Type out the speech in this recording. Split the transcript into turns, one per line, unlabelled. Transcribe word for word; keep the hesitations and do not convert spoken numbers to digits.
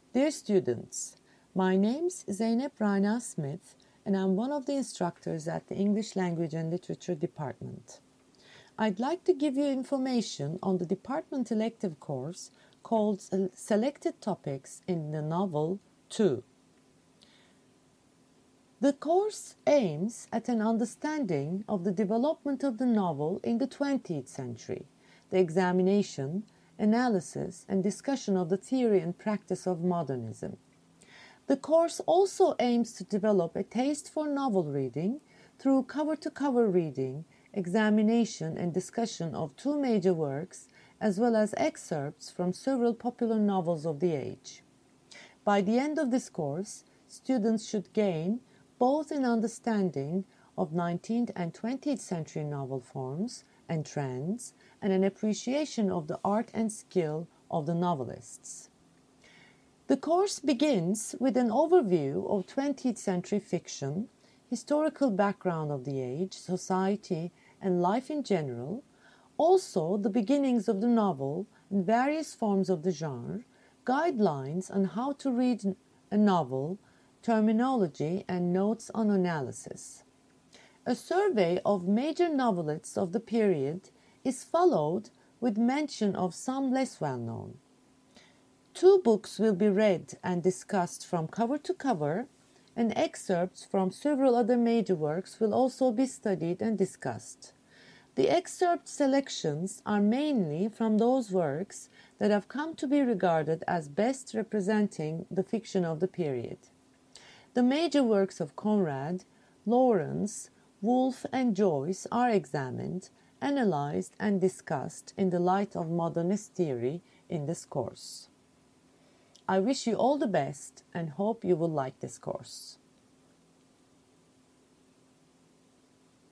Dear students, my name's Zeynep Rana Smith and I'm one of the instructors at the English Language and Literature Department. I'd like to give you information on the department elective course called Selected Topics in the Novel two. The course aims at an understanding of the development of the novel in the twentieth century, the examination, analysis, and discussion of the theory and practice of modernism. The course also aims to develop a taste for novel reading through cover-to-cover reading, examination, and discussion of two major works, as well as excerpts from several popular novels of the age. By the end of this course, students should gain both an understanding of nineteenth and twentieth century novel forms and trends, and an appreciation of the art and skill of the novelists. The course begins with an overview of twentieth century fiction, historical background of the age, society, and life in general, also the beginnings of the novel and various forms of the genre, guidelines on how to read a novel, terminology, and notes on analysis. A survey of major novelists of the period is followed with mention of some less well-known. Two books will be read and discussed from cover to cover, and excerpts from several other major works will also be studied and discussed. The excerpt selections are mainly from those works that have come to be regarded as best representing the fiction of the period. The major works of Conrad, Lawrence, Woolf, and Joyce are examined, analyzed, and discussed in the light of modernist theory in this course. I wish you all the best and hope you will like this course.